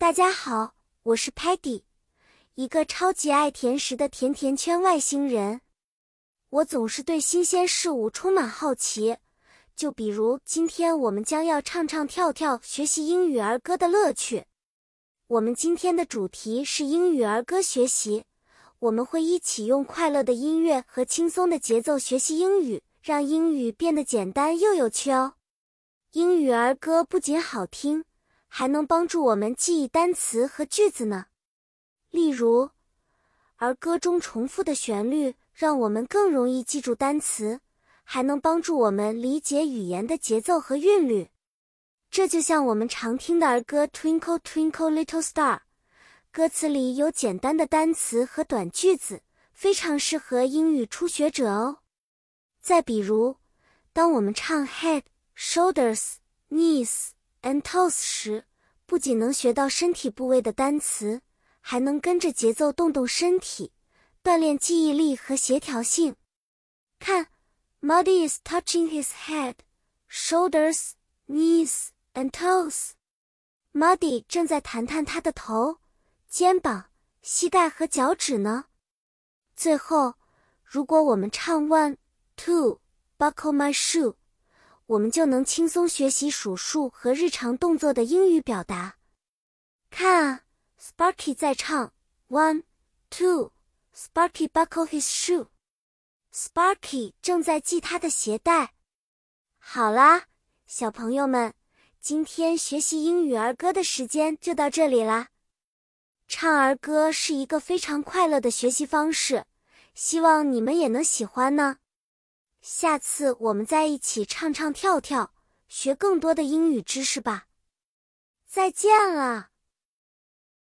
大家好，我是 Patty， 一个超级爱甜食的甜甜圈外星人。我总是对新鲜事物充满好奇，就比如今天我们将要唱唱跳跳学习英语儿歌的乐趣。我们今天的主题是英语儿歌学习，我们会一起用快乐的音乐和轻松的节奏学习英语，让英语变得简单又有趣哦。英语儿歌不仅好听，还能帮助我们记忆单词和句子呢。例如，儿歌中重复的旋律让我们更容易记住单词，还能帮助我们理解语言的节奏和韵律。这就像我们常听的儿歌 Twinkle Twinkle Little Star， 歌词里有简单的单词和短句子，非常适合英语初学者哦。再比如，当我们唱 Head、Shoulders、Knees and Toes 时，不仅能学到身体部位的单词，还能跟着节奏动动身体，锻炼记忆力和协调性。看 Muddy is touching his head, shoulders, knees, and toes. Muddy 正在弹弹他的头、肩膀、膝盖和脚趾呢。最后，如果我们唱 One, Two, Buckle my shoe，我们就能轻松学习数数和日常动作的英语表达。看啊 ，Sparky 在唱 One, Two, Sparky buckle his shoe。Sparky 正在系他的鞋带。好啦，小朋友们，今天学习英语儿歌的时间就到这里啦。唱儿歌是一个非常快乐的学习方式，希望你们也能喜欢呢。下次我们再一起唱唱跳跳，学更多的英语知识吧。再见了。